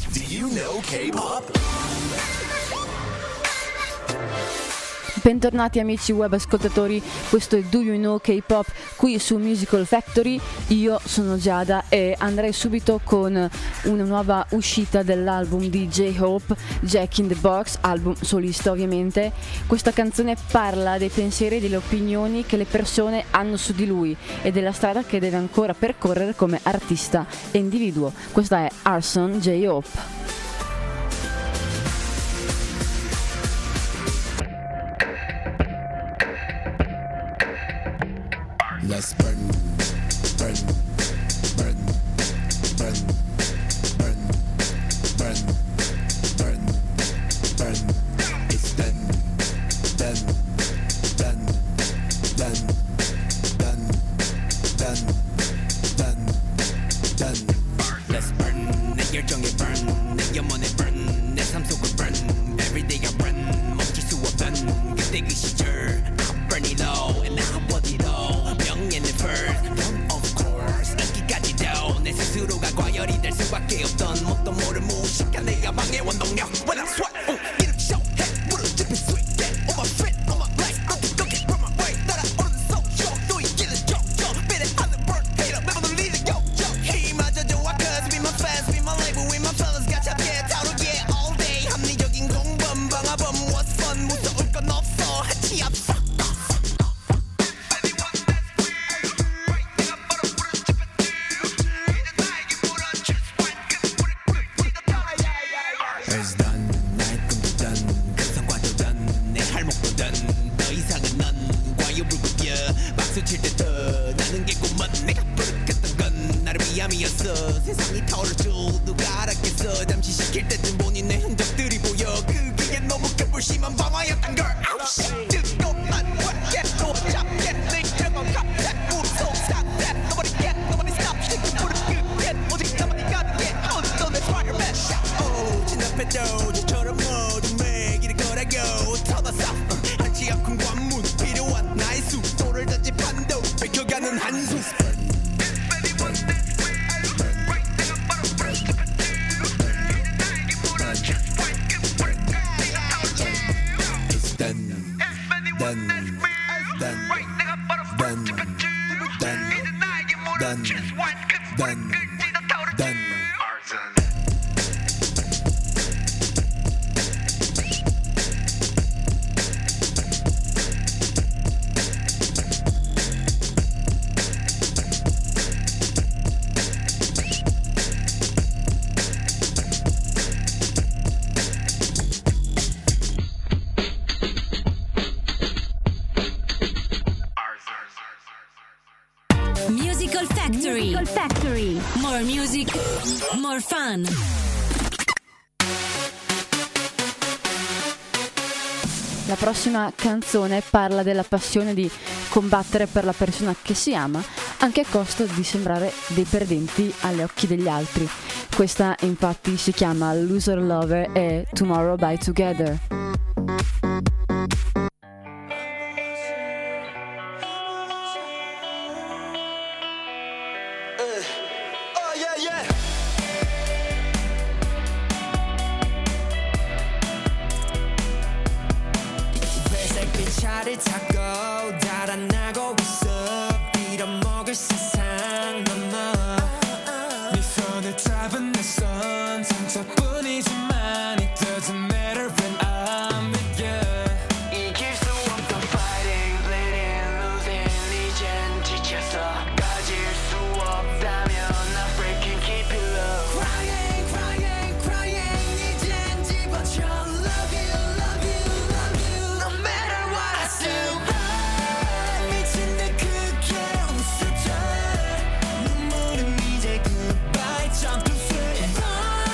Do you know K-pop? Bentornati amici web ascoltatori, questo è Do You Know K-Pop qui su Musical Factory. Io sono Giada e andrei subito con una nuova uscita dell'album di J-Hope, Jack in the Box, album solista ovviamente. Questa canzone parla dei pensieri e delle opinioni che le persone hanno su di lui e della strada che deve ancora percorrere come artista e individuo. Questa è Arson J-Hope. Let's burn, burn, burn, burn, burn, burn, burn, burn. It's done, done, done, done, done, done, done, done. Let's burn, 내 열정에 burn, 내 영혼에 burn, 내 삶 속을 burn. Every day I run, 멈출 수 없던 그때 그 시절. I burn it all and I want it all. Of course 인기까지도 내 스스로가 과열이 될 수밖에 없던 뭣도 모를 무식한 내 야망의 원동력. When I sweat 이름 쇼해 물을 짚은 sweet get on my feet on my legs 너 두껍게 run my way 따라오는 소쇼 또 이기는 jojo 비례하는 bird hater 매번 울리는 요jo 힘마저 좋아 cause be my fans be my label with my fellas 가볍게 다루기에 all day 합리적인 공범 방화범 what's fun 무서울 건 없어 해치 앞서. 세상이 타오를 줄 누가 알았겠어. 잠시 시킬 때쯤 보니 내 흔적들이 보여. 그게 너무 급불심한 방화였단 걸. 뜨겁만 확해 또 잡게 내 결과 갑작 무서운 사태 Nobody get nobody stop 시kin 불을 끄게 오직 나만이 가득해 어떤 내 Spider-Man 오 진압해도 저처럼 어둠에 길을 걸어가고 터졌어 한치 앞큰 관문 필요한 나의 속도를 던진 판도 뺏겨가는 한숨. Musical Factory. More music, more fun. La prossima canzone parla della passione di combattere per la persona che si ama, anche a costo di sembrare dei perdenti agli occhi degli altri. Questa infatti si chiama Loser Lover e Tomorrow by Together. 차를 타고 달아나고 있어 빌어먹을 세상 넘어 네 손을 잡은 내 손 상처뿐이지만 it doesn't matter when I'm with you 이길 수 없던 fighting bleeding losing 이젠 지쳤어 가질 수 없다면 I'm breaking keep it low crying crying crying 이젠 집어쳐 love you love you love you no matter what I still burn 미친 듯 크게 웃어줘 눈물은 이제 goodbye 점프 switch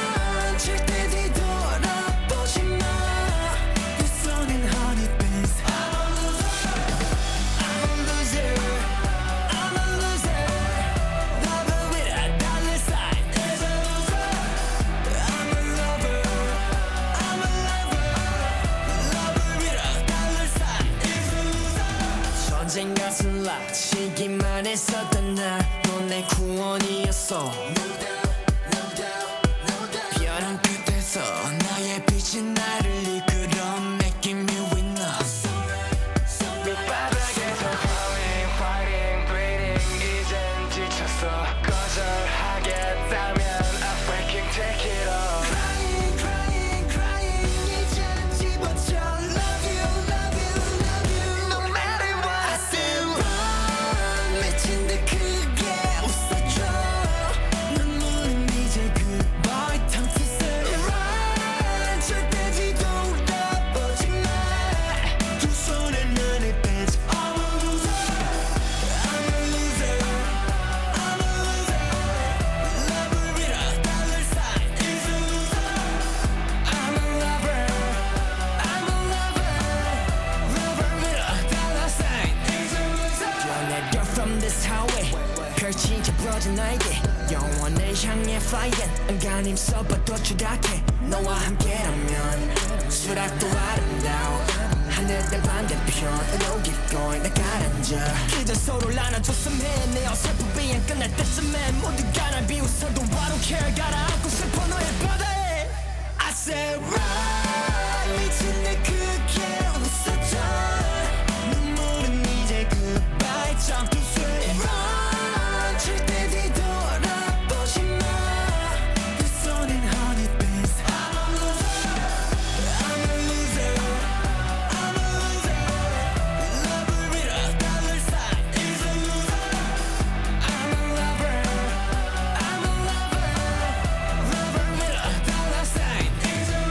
안간 힘써봐도 추락해 너와 함께라면 수락도 아름다워 하늘의 반대편으로 keep going 나 가라앉아 그저 서로를 안아줬으면 내 어설픈 비행 끝날 때쯤엔 모두가 날 비웃어도 I don't care 가라앉고 싶어 너의 바다에 I said right 미친 내 크게 웃었죠 눈물은 이제 goodbye time to say run 절대 뒤돌아보지 마 두 손엔 honey bees I'm a loser I'm a loser I'm a loser lover with a dollar sign is a loser I'm a lover I'm a lover lover with a dollar sign is a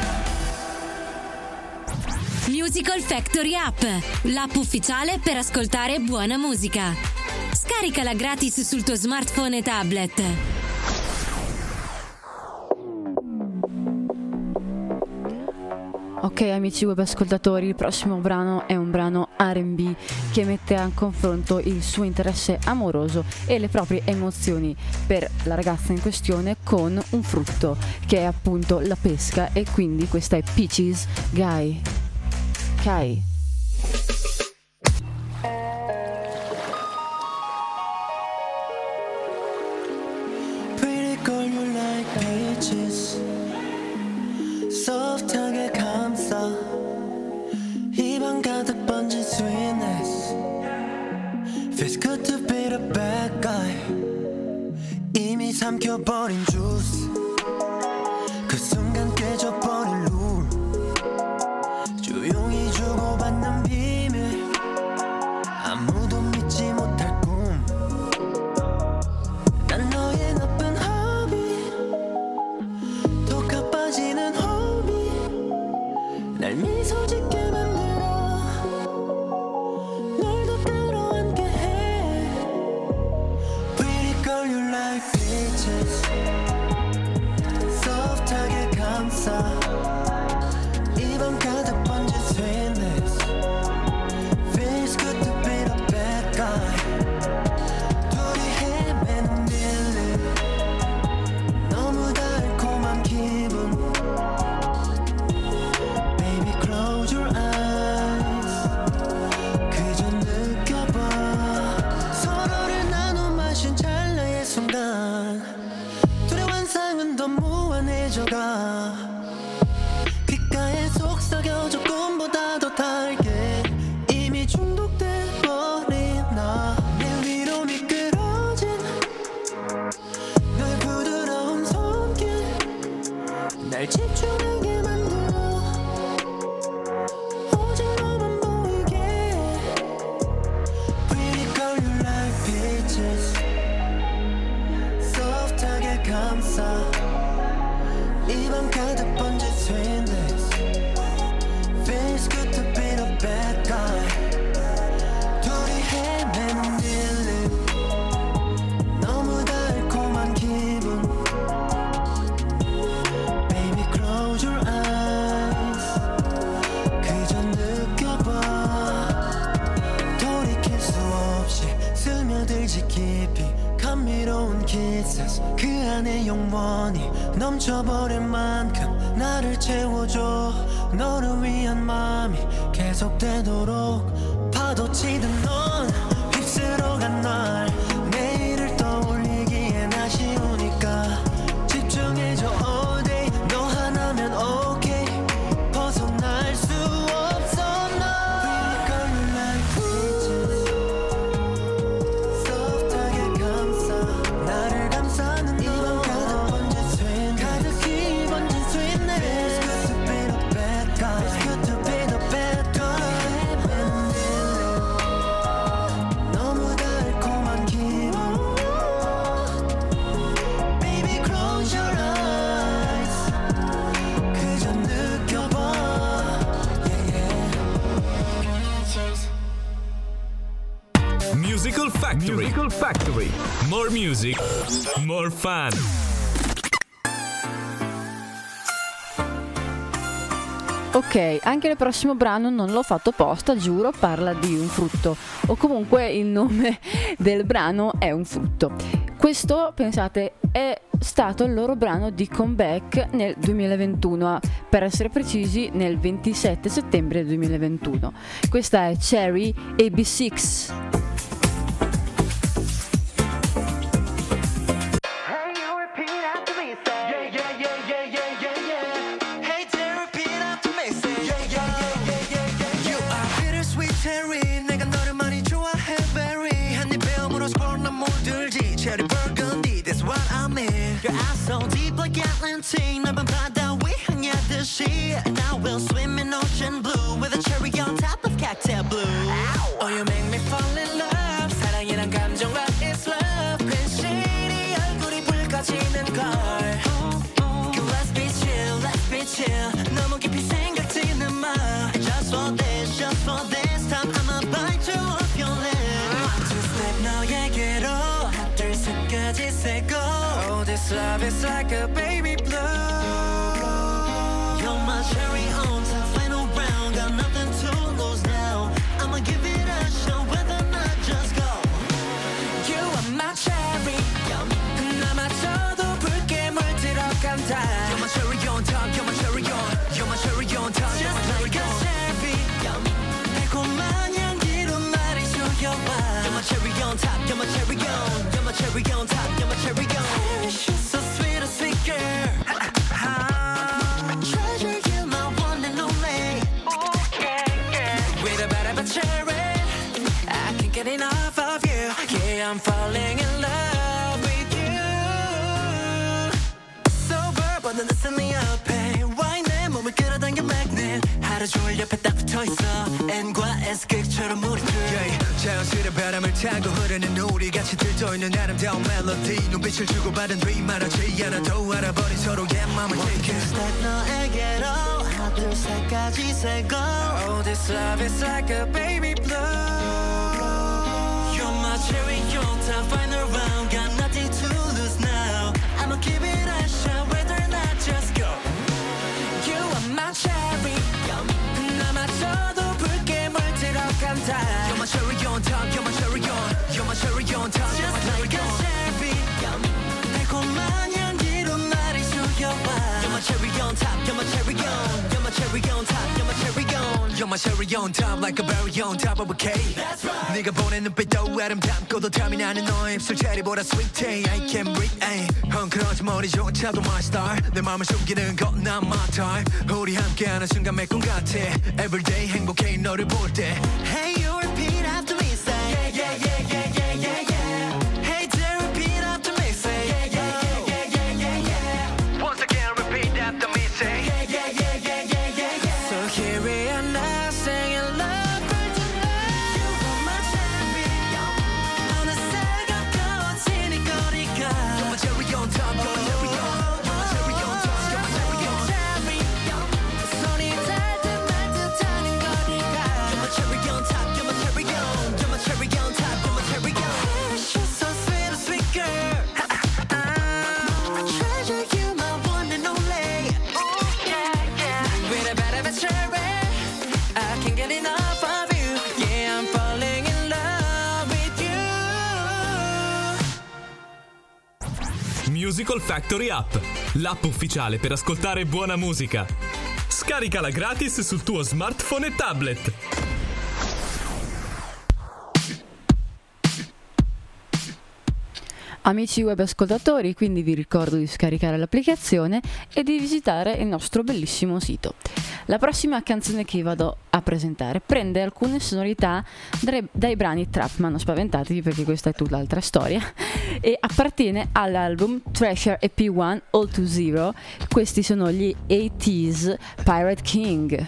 loser. Musical Factory App, l'app ufficiale per ascoltare buona musica. Scaricala gratis sul tuo smartphone e tablet. Ok amici web ascoltatori, il prossimo brano è un brano R&B che mette a confronto il suo interesse amoroso e le proprie emozioni per la ragazza in questione con un frutto che è appunto la pesca, e quindi questa è Peaches Guy. Kai. Pretty girl you like peaches soft하게 감싸 입안 가득 번진 sweetness Feels good to be the bad guy 이미 삼켜버린 juice 그 순간 깨져버린 룰 조용히 주고받는 비밀 아무도 믿지 못할 꿈 난 너의 나쁜 허비 더 가빠지는 허비 날 미소 짓게 만들어 널 더 끌어안게 해 Pretty girl you like peaches soft하게 감싸 입안 가득 번진 sweetness Feels good to be the bad guy 둘이 헤매는 밀림 너무 달콤한 기분 Baby close your eyes 그저 느껴봐 서로를 나눠 마신 찰나의 순간 둘의 환상은 더 무한해져가 귓가에 속삭여져 꿈보다 더 달게 이미 중독돼 버린 나 내 위로 미끄러진 너의 부드러운 손길 날 집중하게 만들어 오직 너만 보이게 Pretty girl you like peaches soft하게 감싸 입안 가득 번진 sweetness Feels good to be the bad guy 둘이 헤매는 밀림 너무 달콤한 기분 Baby close your eyes 그저 느껴봐 돌이킬 수 없이 스며들지 깊이 감미로운 kisses 그 안에 영원히 넘쳐버릴 만큼 나를 채워줘 너를 위한 마음이 계속되도록 파도치듯 넌 휩쓸어간 날 내일을 떠올리기엔 아쉬우니까 집중해줘 all day 너 하나면 okay 벗어날 수 없어 너 Pretty girl you like peaches soft하게 감싸 나를 감싸는 입안 가득 번진 sweetness 가득히 번진 sweetness It's good to be the bad guy It's good to be the bad guy 너무 달콤한 기분 Baby close your eyes 그저 느껴봐 yeah, yeah. Musical Factory. More music, more fun. Ok, anche il prossimo brano non l'ho fatto apposta, giuro, parla di un frutto, o comunque il nome del brano è un frutto. Questo, pensate, è stato il loro brano di comeback nel 2021, per essere precisi nel 27 settembre 2021. Questa è Cherry AB6. Your eyes so deep like Atlantic 넓은 바다 위 향하듯이 Now we'll swim in ocean blue With a cherry on top of cocktail blue Oh, you make me fall in love 사랑이란 감정과 it's love 괜시리 얼굴이 붉어지는 걸 Let's be chill 너무 깊이 생각지는 마 Just for this time I'ma bite you off your lip Just step 너에게로 하나 둘 셋까지 세고 Oh, this love is like a baby blue You're my cherry on top final round Got nothing to lose now I'ma give it a shot whether or not just go You are my cherry 나 맞춰도 붉게 물들어간다 You're my cherry on top You're my cherry on You're my cherry on top You're my cherry on 달콤한 향기로 나를 속여봐 You're my cherry on top You're my cherry on You're my cherry on top You're my cherry on She's so sweet, a sweet girl Treasure, you're my one and only With a bit of a cherry I can't get enough of you Yeah, I'm falling in love with you Sober, but listen me up, hey Why 내 몸을 끌어당겨 magnet 하루 종일 옆에 딱 붙어있어 N과 S극처럼 우리 둘 자연스레 바람을 타고 흐르는 우리 같이 들떠있는 아름다운 멜로디 눈빛을 주고받은 뒤 말하지 않아도 알아버린 서로의 맘을 take it Step 너에게로 하나 둘 셋까지 세고 Oh, this love is like a baby blue You're my cherry on top final round Got nothing to lose now I'ma give it a shot whether or not just go You are my cherry 나 맞춰도 붉게 물들어간다 You're my cherry on top You're my cherry on You're my cherry on top You're my cherry on 달콤한 향기로 나를 속여봐 You're my cherry on top You're my cherry on You're my cherry on top You're my cherry on You're my cherry on top Like a berry on top of a cake That's right 네가 보낸 눈빛도 아름답고도 탐이 나는 너의 입술 체리보다 sweet I can't breathe 헝클어진 머리조차도 my star 내 맘을 숨기는 건 난 my time 우리 함께하는 순간 매콤 같아 Everyday 행복해 너를 볼 때 Hey, you repeat after me, say Yeah, yeah, yeah, yeah, yeah, yeah, yeah Hey, dear, repeat after me, say Yeah, yeah, yeah, yeah, yeah, yeah, yeah Once again repeat after me say Yeah, yeah, yeah, yeah, yeah, yeah, yeah So here we are now, singing love for tonight You are my cherry 어느새 가까워지는 거리가 You're my cherry on top You're my cherry on You're my cherry on top You're my cherry on 손이 닿을 듯 말 듯하는 거리가 You're my cherry on top You're my cherry on You're my cherry on top You're my cherry on She's so sweet, a sweet girl Treasure, you my one and only With a bit of a cherry I can't get enough of you Yeah, I'm falling in love with you Musical Factory App, l'app ufficiale per ascoltare buona musica. Scaricala gratis sul tuo smartphone e tablet. Amici web ascoltatori, quindi vi ricordo di scaricare l'applicazione e di visitare il nostro bellissimo sito. La prossima canzone che vado a presentare prende alcune sonorità dai brani trap, ma non spaventatevi perché questa è tutt'altra storia, e appartiene all'album Treasure EP1 All to Zero. Questi sono gli 80s Pirate King.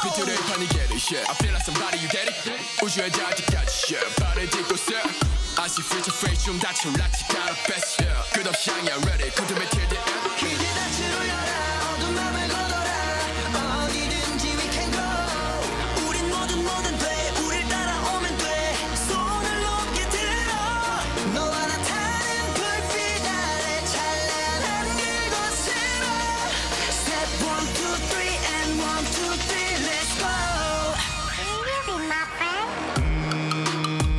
I feel like somebody you get it 우주의 자리까지 발을 딛고 있어 I 다시 future face 좀 다쳐 락치 가라 best yeah 끝없이 향해 ready 컨트롤 till the end 기대 낯을 올려라 어두운 맘을 걷어라 어디든지 we can go 우린 뭐든 돼 우릴 따라오면 돼 손을 높게 들어 너와 나 타는 불빛 아래 찬란한 그곳으로 Step 1, 2, 3 and 1, 2, 3 let's go Will you be my friend?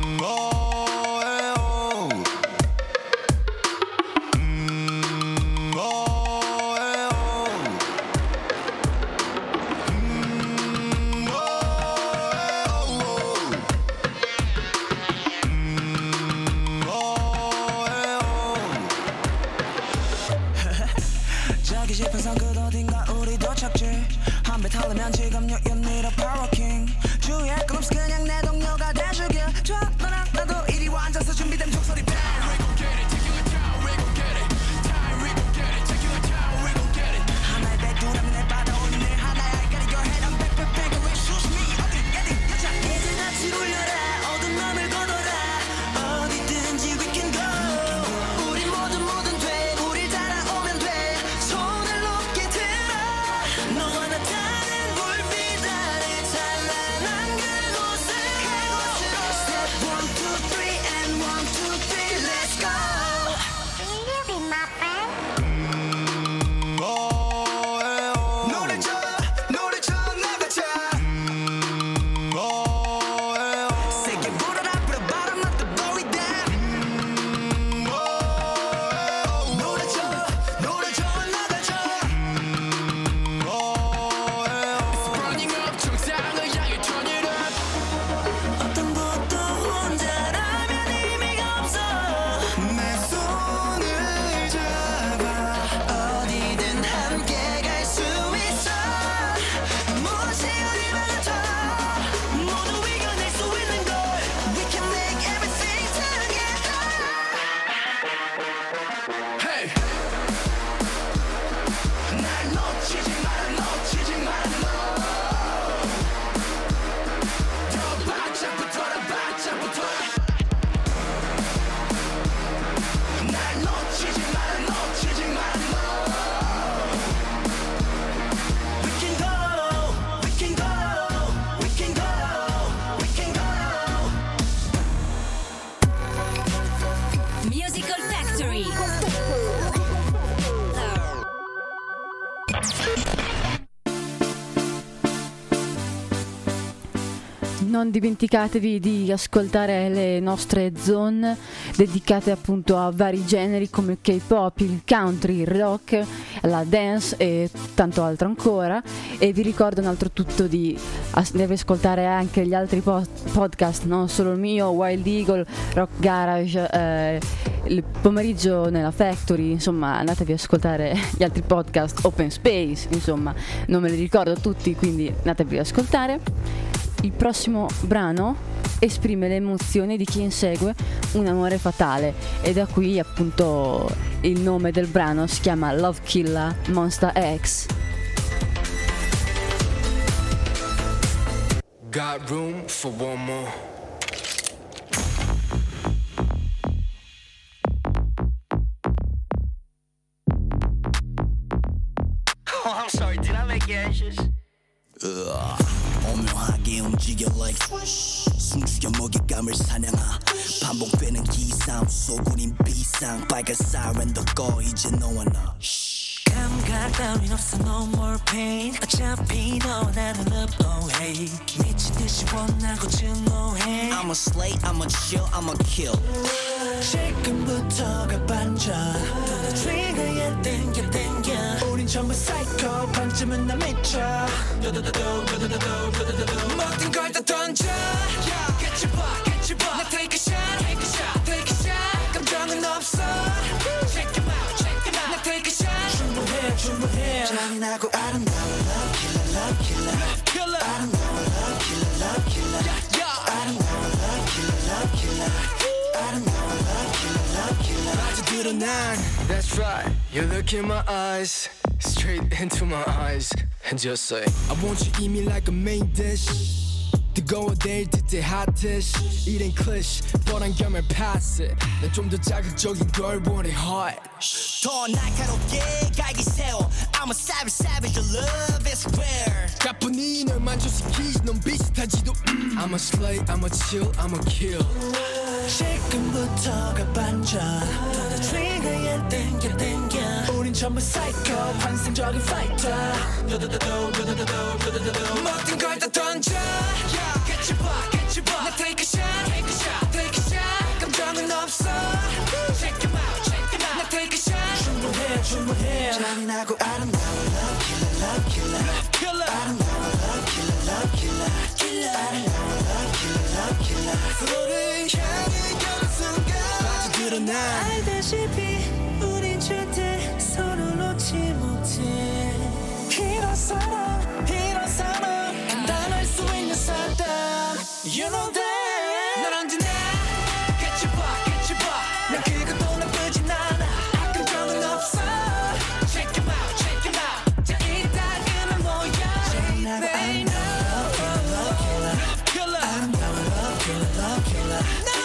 저기 지평선 끝 어딘가 우리 도착지 한 배 타려면 지금 you need a power king 주위에 끝없이 그냥 내 동료가 돼주길 좋아 너랑 나도 이리 와 앉아서 준비된 종소리 bang We gon' get it, take you a town, we gon' get it Time, we gon' get it, take you a town, we gon' get it 하나의 백두라면 내 받아오는 일 하나야 I gotta your head, I'm back, back, back away shoot me 어디 여자 이제 낯을 올려라 어두운 맘을 걷어라 어디든지 we can go 우리 뭐든 돼 우릴 따라오면 돼 손을 높게 들어 너와 나 타는 불빛 아래 찬란한 그곳으로 Step 1, 2, 3 and 1, 2, 3 let's go Will you be my friend? 노래 줘 나가자 세게 불어라 put a bottom of the blow it down 노래 줘 나가자 It's burning up 정상을 향해 turn it up 어떤 것도 혼자라면 의미가 없어 내 손을 잡아 어디든 함께 갈 수 있어 무엇이 어디 말라도 모두 이겨낼 수 있는 걸 We can make everything together Hey 날 놓치지 마라 더 바짝붙어라 날 놓치지 마라 We can go we can go we can go we can go Musical Factory. Non dimenticatevi di ascoltare le nostre zone dedicate appunto a vari generi come il K-pop, il country, il rock, la dance e tanto altro ancora. E vi ricordo un altro tutto di ascoltare anche gli altri podcast, non solo il mio, Wild Eagle, Rock Garage, il pomeriggio nella Factory, insomma andatevi ad ascoltare gli altri podcast, Open Space, insomma non me li ricordo tutti, quindi andatevi ad ascoltare. Il prossimo brano esprime le emozioni di chi insegue un amore fatale e da qui appunto il nome del brano si chiama Love Killer Monster X. Got room for one more Oh, I'm sorry, did I make you anxious? 오묘하게 움직여 like 숨죽여 먹잇감을 사냥하 반복되는 기상 소굴인 비상 빨간 사이렌도 꺼 이제 너와 나 감각 따윈 없어 no more pain 어차피 너와 나는 love oh hey 미친 듯이 원하고 증오해 I'm a slay, I'm a chill, I'm a kill 지금부터가 반전 더 트리거에 땡겨 우린 전부 사이코 반쯤은 나 미쳐 모든 걸 다 던져 Get your bar 나 take a shot 감정은 없어 Check them out 나 take a shot 충분해 잔인하고 아름다워 love killer 아름다워 love killer 아름다워 love killer 아름다워 love killer 빠져들어 난 That's right You look in my eyes Straight into my eyes And just say I want you eat me like a main dish 뜨거워질 듯해 핫tish 이젠 클리시 뻔한 겸을 pass it 난 좀 더 자극적인 걸 원해 hard 더 날카롭게 갈기 세워 I'm a savage savage your love is rare 가뿐히 널 만족시키지 넌 비슷하지도 I'm a slay I'm a chill I'm a kill 지금부터가 반전 더 트리거에 땡겨 우린 전부 사이코 환상적인 파이터 모든 걸 다 던져 Catch you 봐 나 take a shot 감정은 없어 Check him out 나 take a shot 충분해 잔인하고 아름다운 love killer 아름다운 love killer 아름다운 love killer 서로를 향해 가는 순간 빠져들어 난 알다시피 우린 절대 서로 놓지 못해 이런 사람 단단할 수 있는 사람 You know that 넌 언제나 Catch you 봐 난 그것도 나쁘진 않아 감정은 없어 Check him out 자 이따금은 뭐야 They know Love killer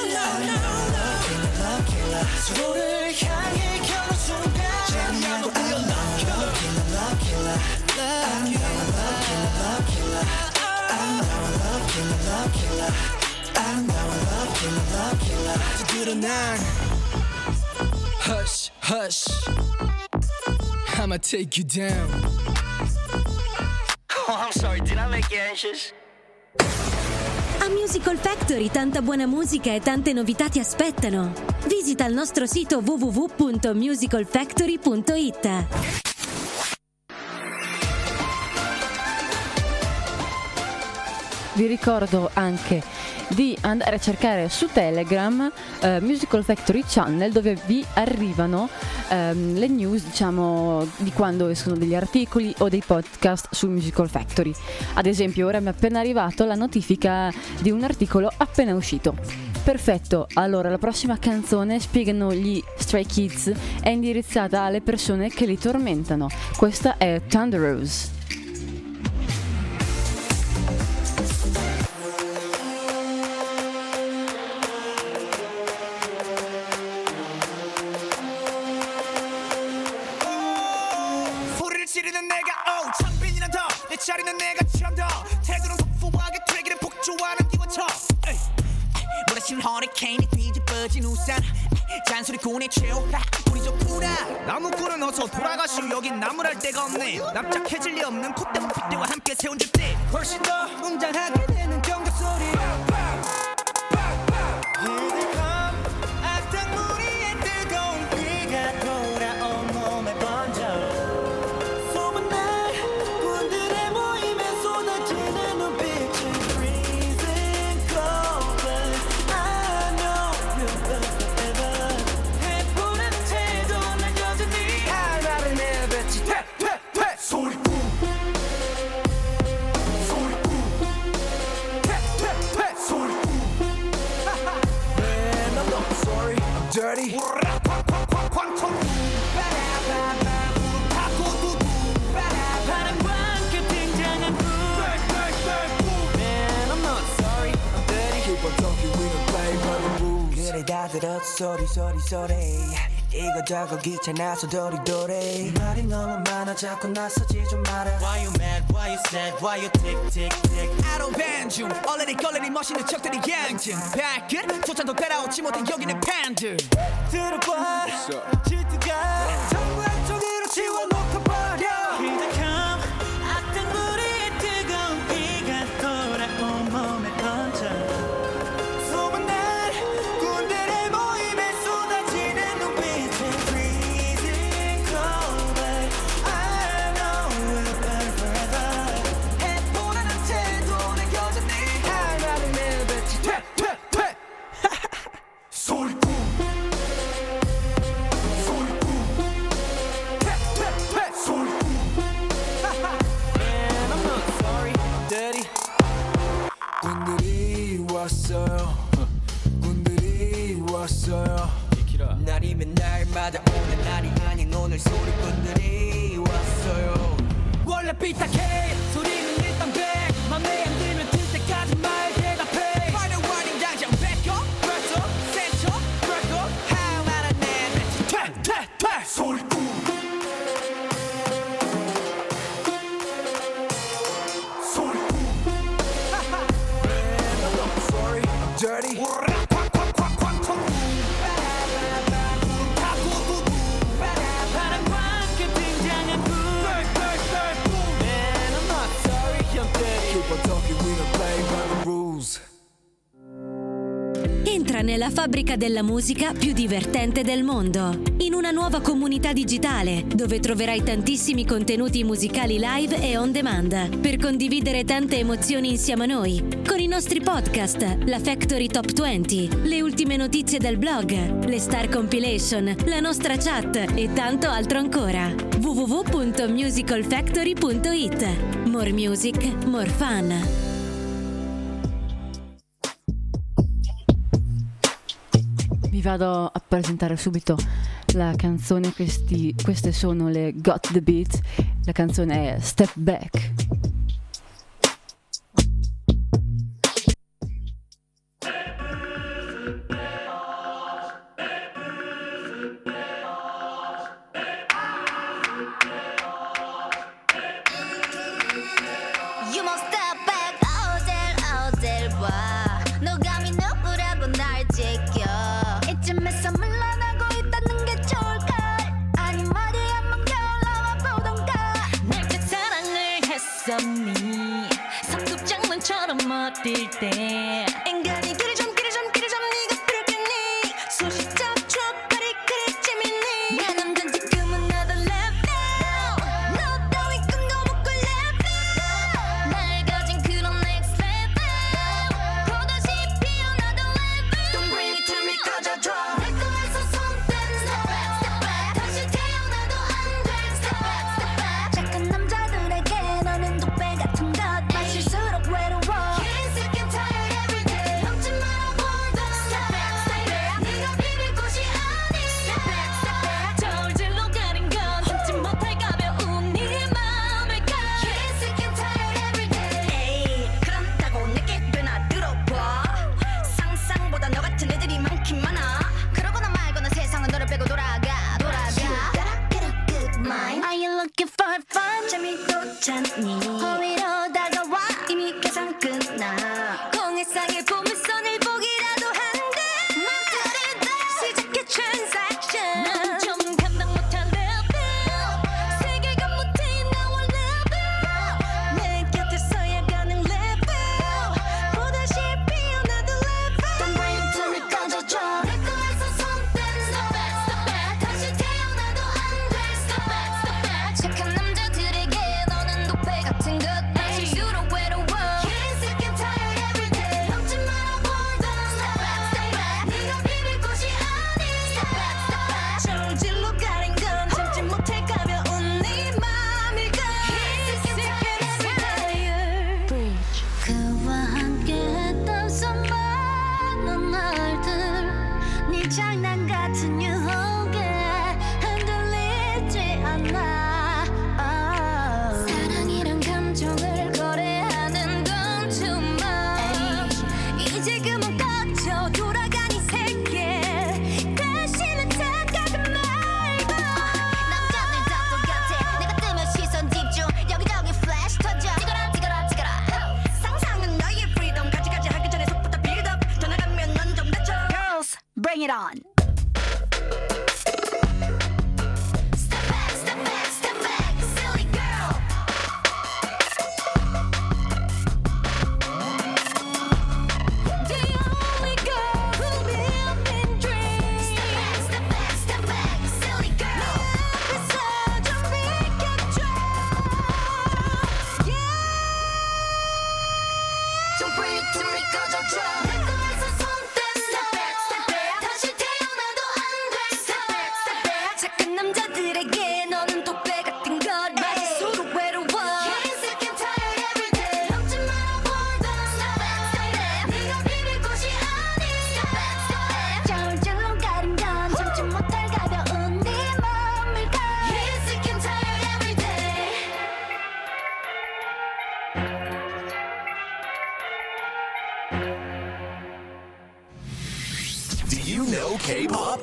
No 서로를 향해 겨눈 순간 재미나고 Love killer 드러난 Hush hush I'ma take you down Oh I'm sorry did I make you anxious? A Musical Factory tanta buona musica e tante novità ti aspettano. Visita il nostro sito www.musicalfactory.it. Vi ricordo anche di andare a cercare su Telegram Musical Factory Channel, dove vi arrivano le news, diciamo, di quando escono degli articoli o dei podcast su Musical Factory. Ad esempio, ora mi è appena arrivato la notifica di un articolo appena uscito. Perfetto, allora la prossima canzone, spiegano gli Stray Kids, è indirizzata alle persone che li tormentano. Questa è Thunder Rose. 지르는 내가 창빈이란 더내 자리는 내가 처음 더 태도는 터프하게 되기를 폭주하는 기관총 몰아치는 허리케인이 뒤집어진 우산 잔소리꾼의 최후 우리 좋구나 나무꾼은 어서 돌아가시오 여긴 나무랄 데가 없네 납작해질 리 없는 콧대와 핏대와 함께 세운 집대 훨씬 더 웅장하게 되는 경적 소리 악당무리의 뜨거운 비가 돌아온 몸에 번져 Dirty 그래 다 들었어 소리 이거저거 귀찮아서 도리도리 말이 너무 많아 자꾸 나서지 좀 마라 Why you mad, why you sad, why you tick tick tick I don't ban 중 얼레리 걸레리 멋있는 척들이 양증 발끝 조차도 따라오지 못해 여기는 팬들 들어봐 질투가 전부 한쪽으로 지워놓고 버려 기적함 악당무리의 뜨거운 비가 돌아온 몸에 번져 군들이 왔어요 날이면 날마다 오는 날이 아닌 오늘 소리꾼들이 왔어요 원래 삐딱해 소리는 일단 백 맘에 안 들면 들 때까지 말 dirty. Entra nella fabbrica della musica più divertente del mondo, in una nuova comunità digitale dove troverai tantissimi contenuti musicali live e on demand per condividere tante emozioni insieme a noi, con i nostri podcast, la Factory Top 20, le ultime notizie del blog, le Star Compilation, la nostra chat e tanto altro ancora. www.musicalfactory.it. More music, more fun. Vi vado a presentare subito la canzone, queste sono le Got the Beat, la canzone è Step Back. You must step back, 어딜 봐. 너 감히 누구라고 날 지켜. 이쯤에서 물러나고 있다는 게 좋을까? 아니 머리 한번 겨울러와 보던가. 내게 사랑을 했었니? 성급 장난처럼 어딜 때 인간이 길이 좀 네가 부르겠니? 소시적 촉발이 그리 재밌니? 내 남잔 지금은 another level. 너 따위 끈거 묶을 level. 날 가진 그런 next level. 또다시 피어나던 level. Don't bring it to me 꺼져줘. 내 거에서 손 떼. Step back, step back. 다시 태어나도 안 돼. Step back, step back. 착한 남자들에게 너는 독배 같은 것. 마실수록 외로워. Can't sick and tired every day. 넘지 마라 보던. Step back, step back. 네가 비빌 곳이 아니. Step back, step back. 저울질로 가린 건 참지 못할 가벼운 네 마음을 가. Can't sick and tired every day. 에이, 그런다고 내게 꽤나 들어봐. 상상보다 너 같은 애들이 많긴 많아. 그러거나 말거나 세상은 너를 빼고 돌아가. You gotta get a good mind. Are you looking for fun? 재미도 찾니? 호위로 다가와 이미 계산 끝나. 공해상의 보물선을 보기라도 한대. 맘들이다 시작해 transaction. 난 좀 감당 못한 level. 세계관 못해 나와 level. 내 곁에서야 가는 level. 또다시 피어나도 level. Don't bring it to me 꺼져줘. 내 거에서 손 떼. Step back, step back. 다시 태어나도 안 돼. Step back, step back. 착한 남자들에게 너는 독배 같은 것. 마실수록 외로워. Can't sick and tired every day. 넘지 마라 보던. Step back, step back. 네가 비빌 곳이 아니. Step back, step back. 저울질로 가린 건 참지 못할 가벼운 네 맘을 가. Can't sick and tired every day. 그와 함께 했던 수많은 날들 네 장난 같은 유혹에 흔들리지 않아. 사랑이란 감정을 거래하는 건 too much. 이제 그만 꺼져 돌아가니 세계. 다시는 착각은 말고. 남자들 다 똑같아. 내가 뜨면 시선 집중. 여기저기 플래시 터져. 찍어라 상상은 너의 freedom. 가지가지 하기 전에 속부터 build up. 더 나가면 넌 좀 다쳐. Girls, bring it on. Step back, step back, step back, silly girl. The only girl who live in dreams. Step back, silly girl. 내 앞에서 좀 비켜줘. Yeah. Don't bring it to me 꺼져줘. 내 거에서 손 떼. Step back, step back. 다시 태어나도 안 돼. Step back, step back. 착한 남자들에게 너는 독배 같은 것. 마실수록 외로워. Can't sick and tired every day. 넘지 마라 보던. Step back, step back. 네가 비빌 곳이 아니. Step back, step back. 저울질로 가린 건 참지 못할 가벼운 네 마음을 가. Can't sick and tired every day. Do you know K-pop?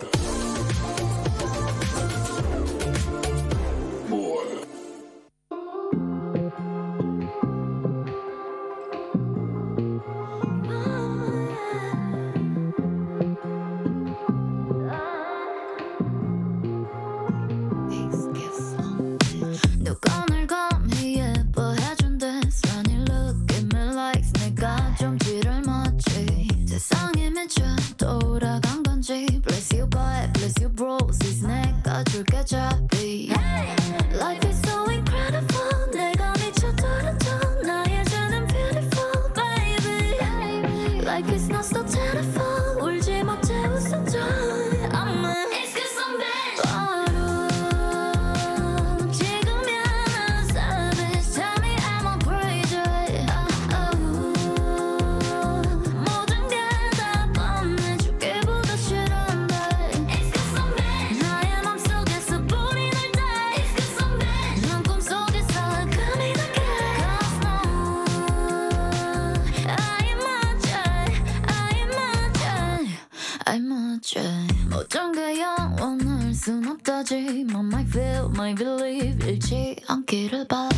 건지 might feel, might believe 잃지 않기를 바래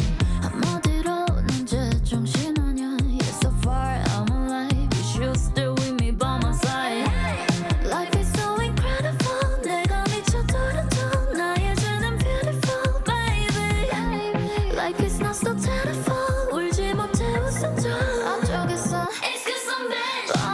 한마디로 넌 제정신아냐 You're so far, I'm alive You should stay with me by my side Life is so incredible 내가 미쳐버렸죠 나의 죄는 beautiful baby Life is not so terrible 울지 못해 웃음줘 앞쪽에서 It's cause I'm bad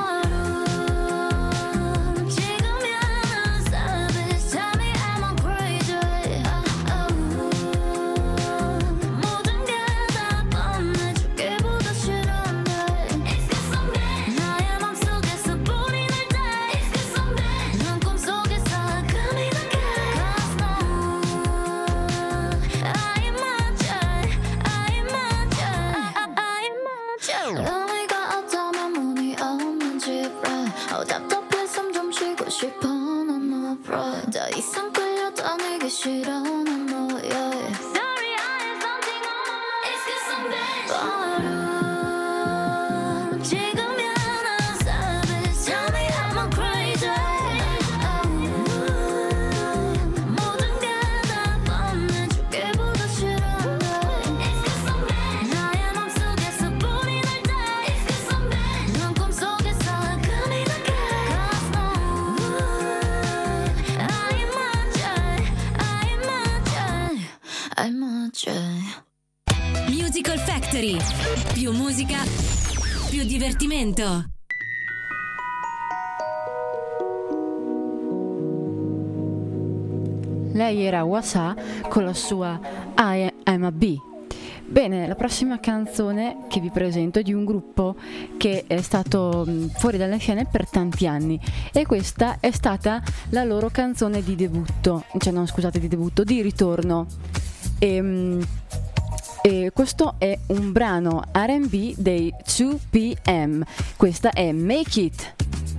의미가 없다면 문이 없는 집에 답답해 숨 좀 쉬고 싶어 난 no problem 더 이상 끌려다니기 싫어 난 너야 Sorry I have something on my mind It's cause I'm bad 바로 지금이야 난 savage Tell me am I crazy 모든 게 다 뻔해주기보다 싫은데 It's cause I'm bad 나의 맘속에서 불이 날 때 It's cause I'm bad 넌 꿈속에서 금이 나게 Cause no I'm a J Musical Factory. Più musica, più divertimento. Lei era Wasa con la sua I Am a B. Bene, la prossima canzone che vi presento è di un gruppo che è stato fuori dalle scene per tanti anni e questa è stata la loro canzone di debutto, cioè no scusate di debutto, di ritorno. E questo è un brano R&B dei 2PM, questa è Make It.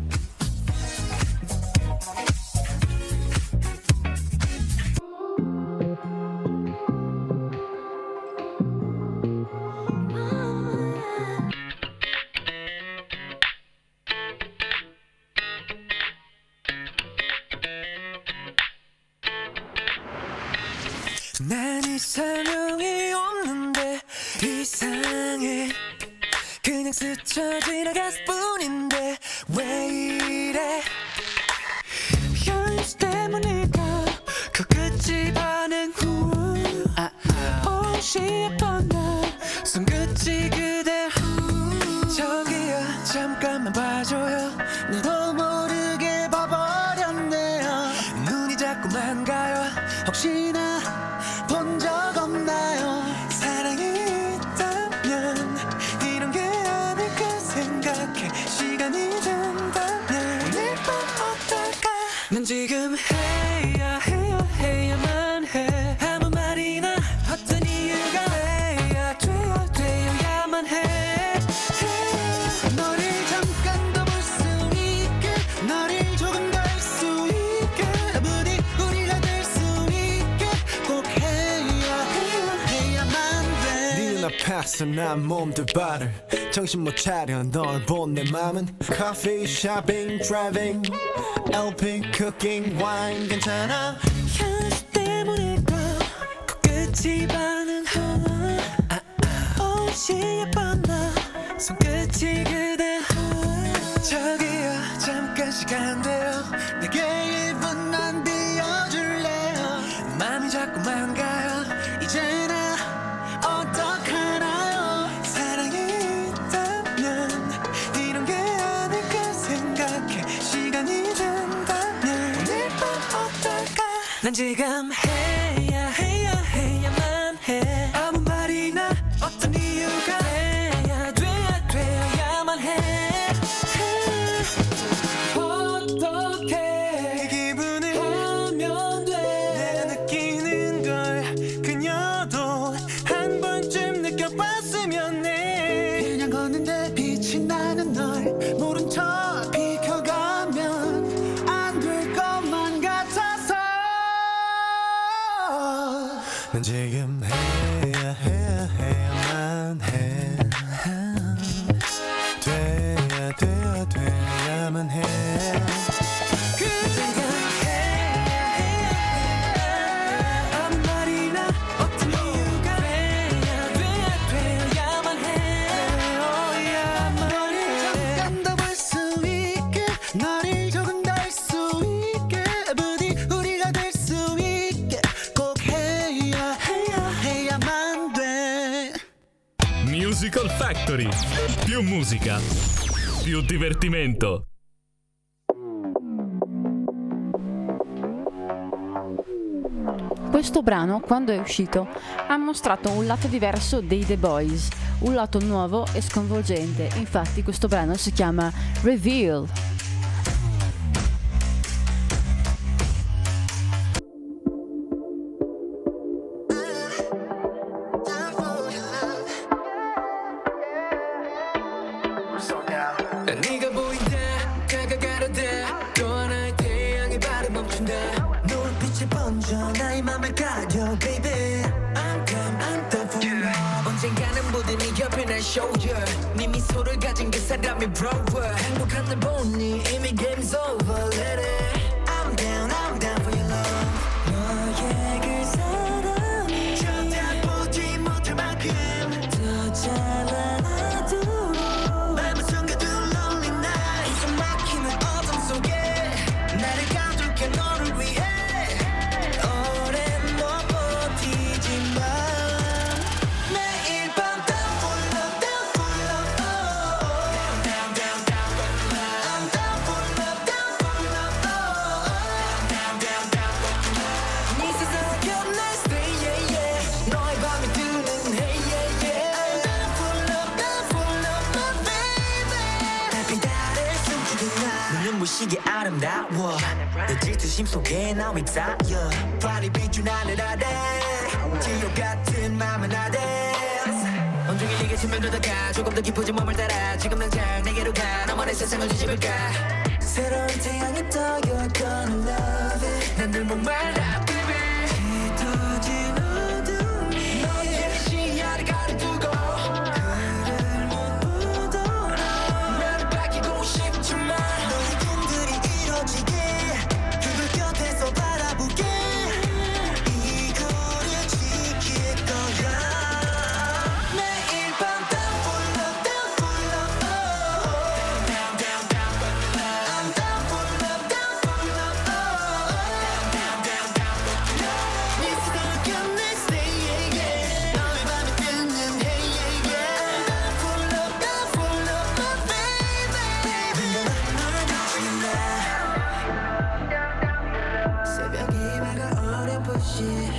난 이상형이 없는데 이상해 그냥 스쳐 지나갔을 뿐인데 왜 이래 현실 때문일까 코끝이 반응 후 옷이 예뻐 난 손끝이 그대 저기요 잠깐만 봐줘요 나도 모르게 봐버렸네요 눈이 자꾸만 가요 혹시나 본 적 없나요 사랑이 있다면 이런 게 아닐까 생각해 시간이 된다면 오늘 밤 어떨까 난 지금 해야만 해 아무 말이나 어떤 이유가 되어야만 해 너를 잠깐 더 볼 수 있게 너를 조금 더 알 수 있게 부디 우리가 될 수 있게 꼭 해야만 돼 네 눈앞에서 난 몸둘 바를 정신 못 차려 널 본 내 맘은 커피, 쇼핑, 드라이빙 LP, 쿠킹, 와인 괜찮아 현실 때문일까 코끝이 반응하나 옷이 예뻐 나 손끝이 그대 저기요 잠깐 시간 돼요 내게 1분만 비워줄래요 맘이 자꾸만 가요 이제 나 어떡하나요 사랑이 있다면 이런 게 아닐까 생각해 시간이 된다면 오늘 밤 어떨까 난 지금 해야만 해 아무 말이나 어떤 이유가 돼야만 해 어떻게 기분을 하면 돼 내가 느끼는 걸 그녀도 한 번쯤 느껴봤으면 해 그냥 걷는데 빛이 나는 널 모른 척 비켜가면 안 될 것만 같아서 난 지금 해야만 해 돼야만 해 지금 해야만 Musical Factory. Più musica, più divertimento. Questo brano, quando è uscito, ha mostrato un lato diverso dei The Boys, un lato nuovo e sconvolgente. Infatti questo brano si chiama Reveal. 네가 보인다 다가가려 돼 또 하나의 태양이 발을 멈춘다 노을빛이 번져 나의 맘을 가려 baby I'm done for you 언젠가는 모든 네 옆에 날 show you 네 미소를 가진 그 사람이 brower 행복한 날 보니 이미 game's over let it I'm down for your love 너의 그 사랑이 쳐다보지 못할 만큼 더 잘라놔도 맘을 숨겨둔 lonely night 이손 막히는 어둠 속에 나를 가둘게 너를 위해 오랜 못 버티지만 매일 밤 down for love I'm down for love 네 세상을 겹날 stay yeah yeah 너의 밤이 뜨는 hey yeah yeah down for love my baby 달빛 아래 숨죽인 날 눈부시게 아름다워 내 질투심 속에 나 휩싸여 발이 비춘 하늘 아래 지옥 같은 맘은 아래 온종일 네게 스며들다가 조금 더 깊어진 몸을 따라 지금 당장 내게로 가 너만의 세상을 뒤집을까 새로운 태양이 떠 You're gonna love it 난 늘 목말라 baby 짙어진 어둠이 너의 시야를 가려두고 그를 못 보더라 나를 밝히고 싶지만 너의 꿈들이 이뤄지게 그걸 곁에서 바라보게 이 거리를 지킬 거야 매일 밤 down for love I'm down for love 네 세상을 겹날 stay yeah yeah 너의 밤이 뜨는 hey yeah yeah down for love my baby 널 놓친다 새벽이 밝아 어렴풋이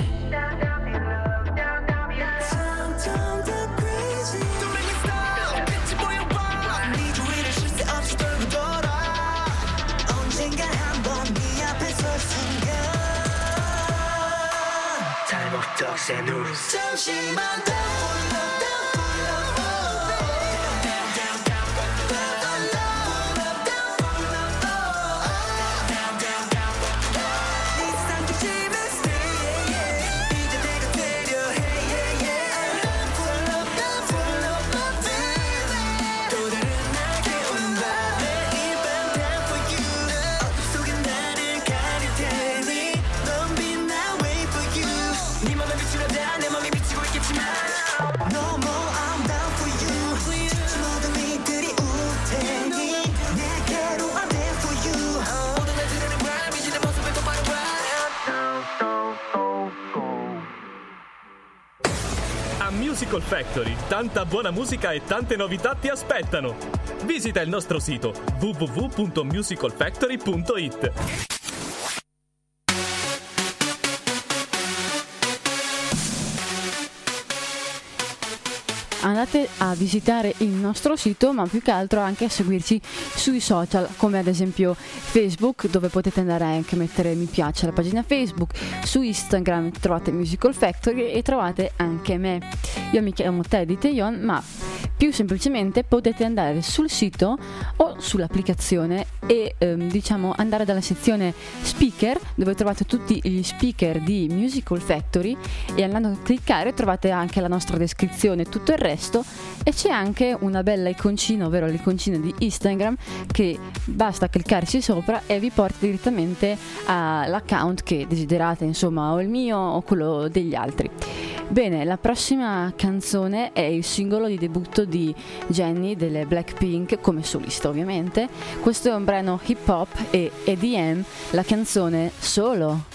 Sometimes I'm crazy Don't make me stop 빛이 보여봐 네 주위를 쉴 새 없이 돌고 돌아 언젠가 한번 네 앞에 설 순간 잘못된 새 누르 잠시만 down for love 네 세상 중심에 stay yeah yeah 이제 내가 되려 hey yeah yeah down for love my baby 또 다른 날개 오는 밤 매일 밤 down for you 어둠 속에 나를 가릴 테니 넌 빛나 wait for you 네 맘에 비추려다 내 맘이 비치고 있겠지만 No more I'm down for you 모든 이들이 울 테니 내게로 I'm there for you 모든 날 들으는 말 미친 내 모습에 똑바로 봐 A Musical Factory, tanta buona musica e tante novità ti aspettano. Visita il nostro sito www.musicalfactory.it. Andate a visitare il nostro sito, ma più che altro anche a seguirci sui social, come ad esempio Facebook, dove potete andare anche a mettere mi piace alla pagina Facebook. Su Instagram trovate Musical Factory e trovate anche me. Io mi chiamo Teddy Tejon, ma più semplicemente potete andare sul sito o sull'applicazione e diciamo andare dalla sezione speaker, dove trovate tutti gli speaker di Musical Factory, e andando a cliccare trovate anche la nostra descrizione e tutto il resto, e c'è anche una bella iconcina, ovvero l'iconcina di Instagram, che basta cliccarci sopra e vi porta direttamente all'account che desiderate, insomma, o il mio o quello degli altri. Bene, la prossima canzone è il singolo di debutto di Jennie delle Blackpink, come solista ovviamente. Questo è un brano hip hop e EDM, la canzone Solo.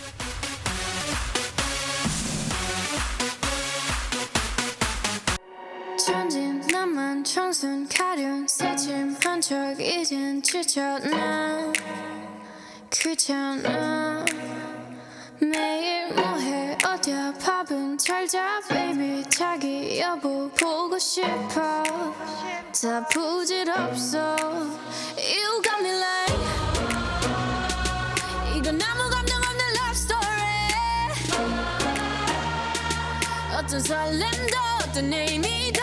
천진 나만 청순 가련 새침한 척 이젠 지쳤나 귀찮아 매일 뭐해 어디야 밥은 잘자 baby 자기 여보 보고 싶어 다 부질없어 You got me like 이건 아무 감정 없는 love story 어떤 설렘도 어떤 의미도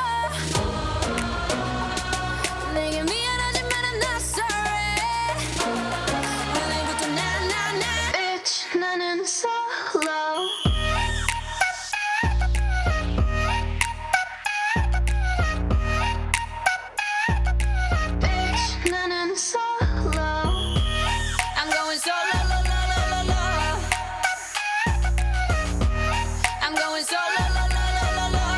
내게 미안하지만 I'm not sorry 오늘부터 나 Bitch 나는 solo Bitch 나는 solo I'm going solo lo, lo, lo, lo, lo. I'm going solo lo, lo, lo, lo,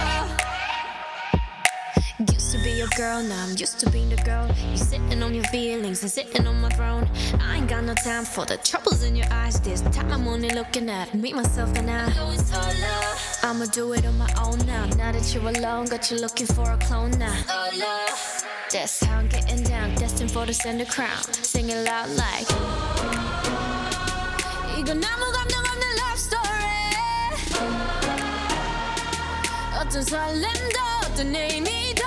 lo. Used to be your girl, now I'm used to being the girl. You sitting on your feelings and sitting on my throne. I ain't got no time for the troubles in your eyes. This time I'm only looking at me, myself, and I. I'm going solo. I'ma do it on my own now. Now that you're alone, got you looking for a clone now. Solo. That's how I'm getting down, destined for the center crown. Sing it loud like 이건 아무 감정 없는 love story 어떤 설렘도 어떤 의미도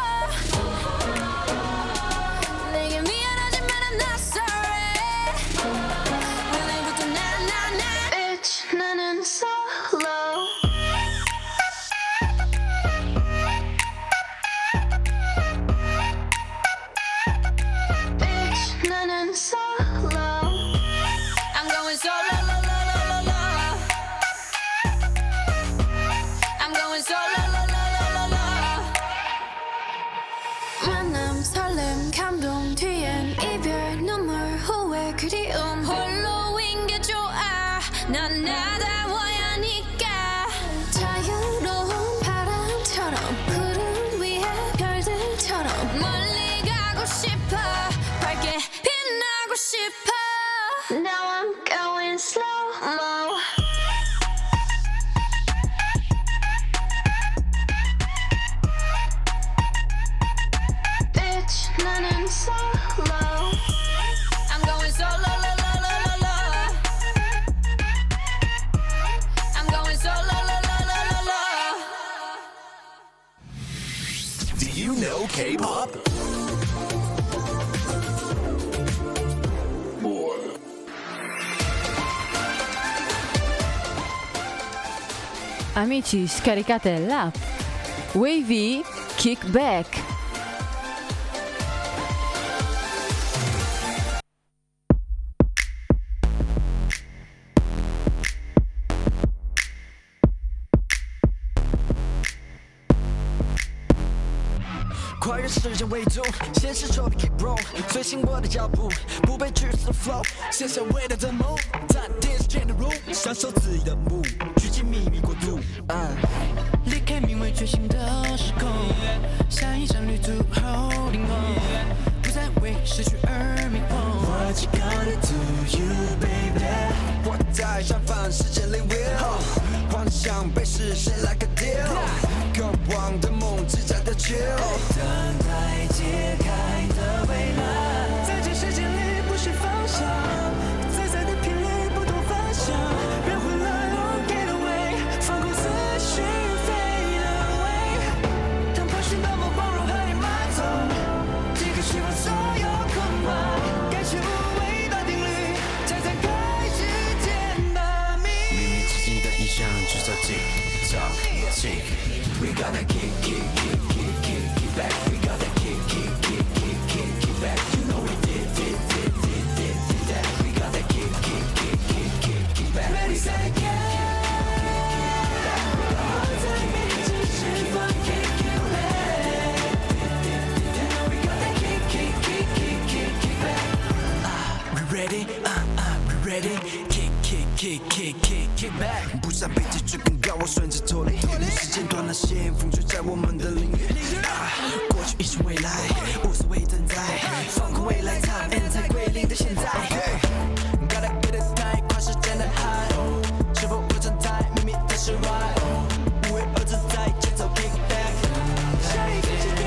내게 미안하지만 I'm not sorry 오늘부터 나 Bitch 나는 solo Bitch 나는 solo I'm going solo lo, lo, lo, lo, lo. I'm going solo lo, lo, lo, lo, lo. 만남 설렘 감동 뒤엔 이별 눈물 후회 그리움 홀로인 게 좋아 난 나다워야 하니까 자유로운 바람처럼 구름 위에 별들처럼 멀리 가고 싶어 밝게 빛나고 싶어 Now I'm going slow-mo Bitch 나는 solo I'm going solo lo, lo, lo, lo, lo. I'm going solo lo, lo, lo, lo, lo. Do you know K-pop? Amici, scaricate l'app Wavy Kickback. 跨越时间维度，现实中的 keep roll， 随性我的脚步，不被拘束的 flow， 写下伟大的梦，在电视前的 room， 享受自由的目，趋近秘密国度。离开名为觉醒的时空，下一站旅途 holding on， 不再为失去而迷惘。What you gonna do, you baby？ 我在绽放世界领域，幻想被实现 like a deal， 渴望的梦只在的 chill。 等待揭开的未来，在这世界里不是方向，在在的频率不同凡响，别回来 or get away， 放空思绪 fade away， 当破讯那么包容和你埋葬，即刻释放所有空白，感谢无谓的定律，才展开时间的谜。秘密自己的意象，制造 tick tock tick。 We gotta kick kick kick kick kick kick back. We gotta kick kick kick kick kick kick back. You know we did that. We gotta kick kick kick kick kick kick back. Ready set again. We ready? We ready? Kick kick kick kick kick kick back. 不想被击坠更高，我顺着脱离。时间断了线，风吹在我们的领域。过去已是未来，无所谓等待，放空未来 time and 在归零的现在。Gotta get it tight， 跨时间的海，是否不存在秘密的释怀？无为而自在，节奏 kick back。下一个阶段。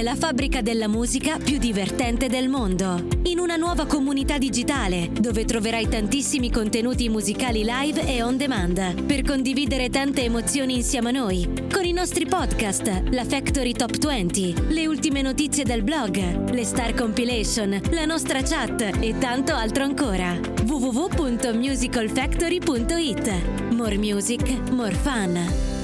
nella fabbrica della musica più divertente del mondo, in una nuova comunità digitale dove troverai tantissimi contenuti musicali live e on demand per condividere tante emozioni insieme a noi, con i nostri podcast, la Factory Top 20, le ultime notizie del blog, le Star Compilation, la nostra chat e tanto altro ancora. www.musicalfactory.it. More music, more fun.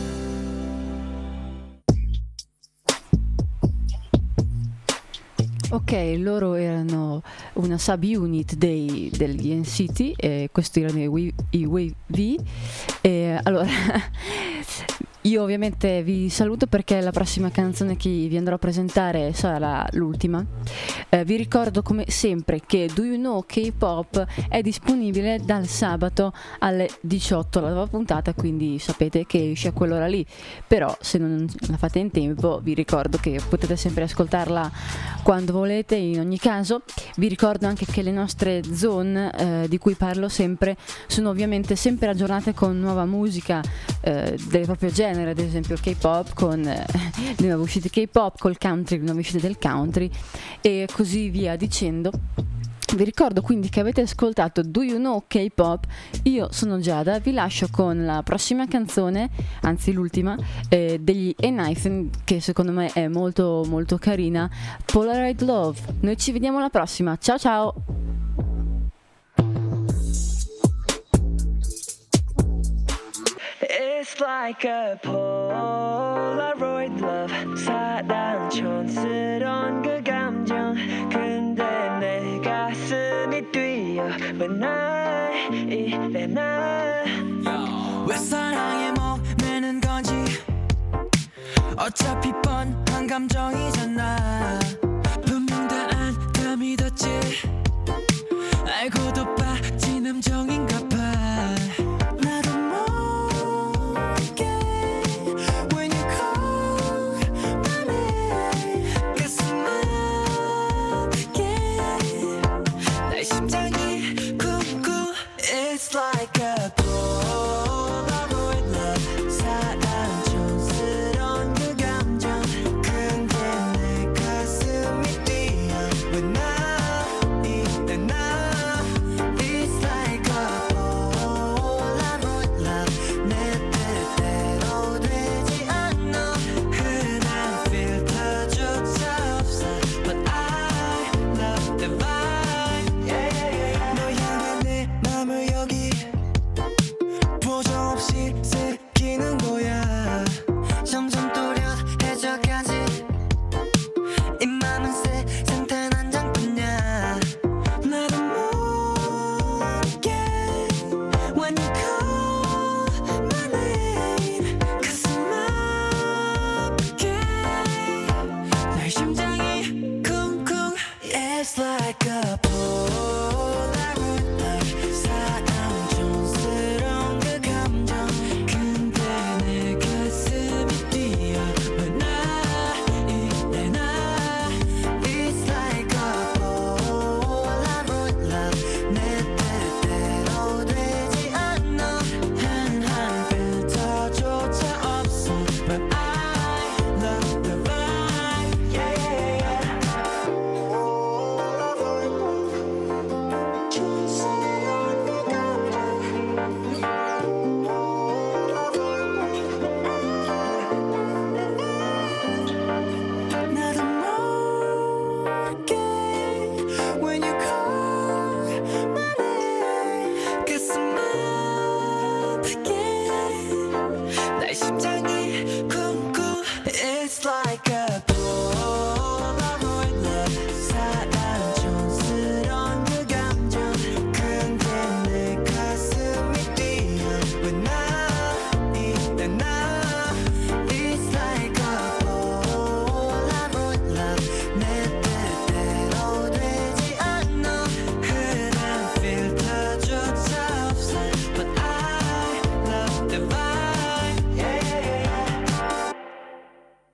Ok, loro erano una subunit degli NCT e questi erano i Wave V. Allora, io ovviamente vi saluto perché la prossima canzone che vi andrò a presentare sarà l'ultima. Vi ricordo come sempre che Do You Know K-Pop è disponibile dal sabato alle 18, la nuova puntata, quindi sapete che esce a quell'ora lì. Però se non la fate in tempo vi ricordo che potete sempre ascoltarla quando volete. In ogni caso vi ricordo anche che le nostre zone di cui parlo sempre sono ovviamente sempre aggiornate con nuova musica del proprio genere, ad esempio il K-pop con le nuove uscite K-pop, col country, le nuove uscite del country e così via dicendo. Vi ricordo quindi che avete ascoltato Do You Know K-Pop. Io sono Giada, vi lascio con la prossima canzone, anzi l'ultima, degli N-Hyphen, che secondo me è molto molto carina, Polaroid Love. Noi ci vediamo alla prossima, ciao ciao! It's like a Polaroid love 사랑 촌스러운 그 감정 근데 내 가슴이 뛰어 왜 날 이래 날 왜 사랑에 목매는 건지 어차피 뻔한 감정이잖아 분명 다 안 다 믿었지 알고